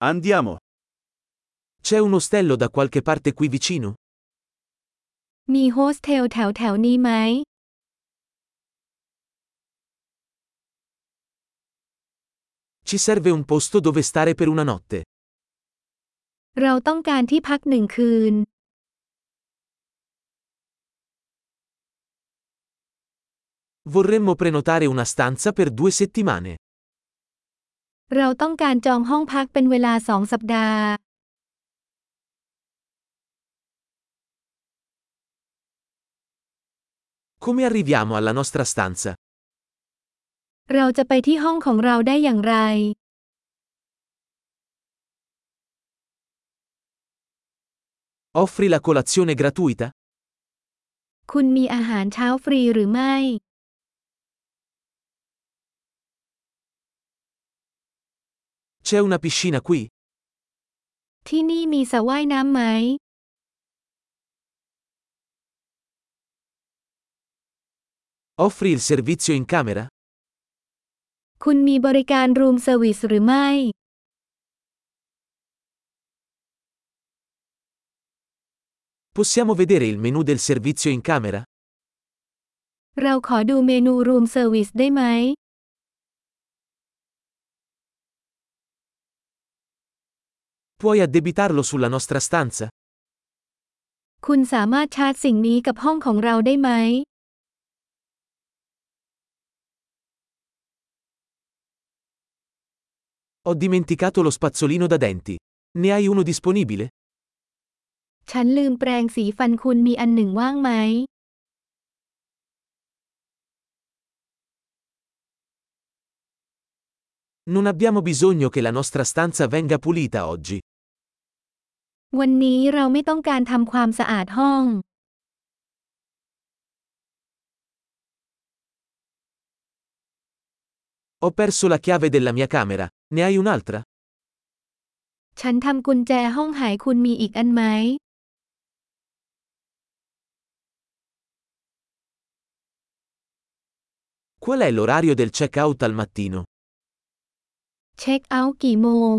Andiamo. C'è un ostello da qualche parte qui vicino? มีโฮสเทลแถวนี้ไหม Ci serve un posto dove stare per una notte. เราต้องการที่พักหนึ่งคืน Vorremmo prenotare una stanza per 2 settimane. เราต้องการจองห้องพักเป็นเวลา2 สัปดาห์ Come arriviamo alla nostra stanza? เราจะไปที่ห้องของเราได้อย่างไร Offri la colazione gratuita? คุณมีอาหารเช้าฟรีหรือไม่ C'è una piscina qui? ที่นี่มีสระว่ายน้ำไหม Offri il servizio in camera? คุณมีบริการรูมเซอร์วิสหรือไม่ Possiamo vedere il menu del servizio in camera? เราขอดูเมนูรูมเซอร์วิสได้ไหม Puoi addebitarlo sulla nostra stanza? คุณสามารถชาร์จสิ่งนี้กับห้องของเราได้ไหม Ho dimenticato lo spazzolino da denti. Ne hai uno disponibile? ฉันลืมแปรงสีฟันคุณมีอันหนึ่งว่างไหม Non abbiamo bisogno che la nostra stanza venga pulita oggi. วันนี้เราไม่ต้องการทำความสะอาดห้อง Ho perso la chiave della mia camera. Ne hai un'altra? ฉันทำกุญแจห้องหายคุณมีอีกอันไหม Qual è l'orario del check-out al mattino? เช็คเอาท์กี่โมง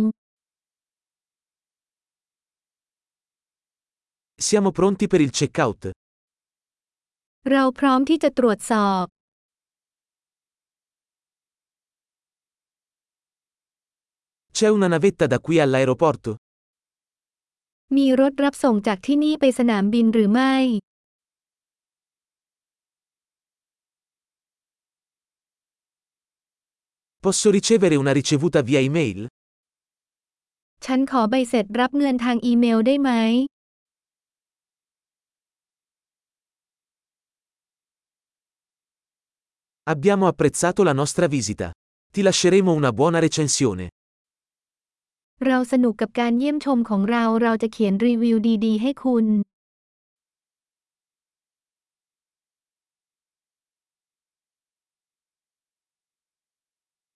Siamo pronti per il check-out. เราพร้อมที่จะตรวจสอบ C'è una navetta da qui all'aeroporto? มีรถรับส่งจากที่นี่ไปสนามบินหรือไม่ Posso ricevere una ricevuta via email? ฉันขอใบเสร็จรับเงินทางอีเมลได้ไหม Abbiamo apprezzato la nostra visita. Ti lasceremo una buona recensione. เราสนุกกับการเยี่ยมชมของเรา เราจะเขียนรีวิวดีๆให้คุณ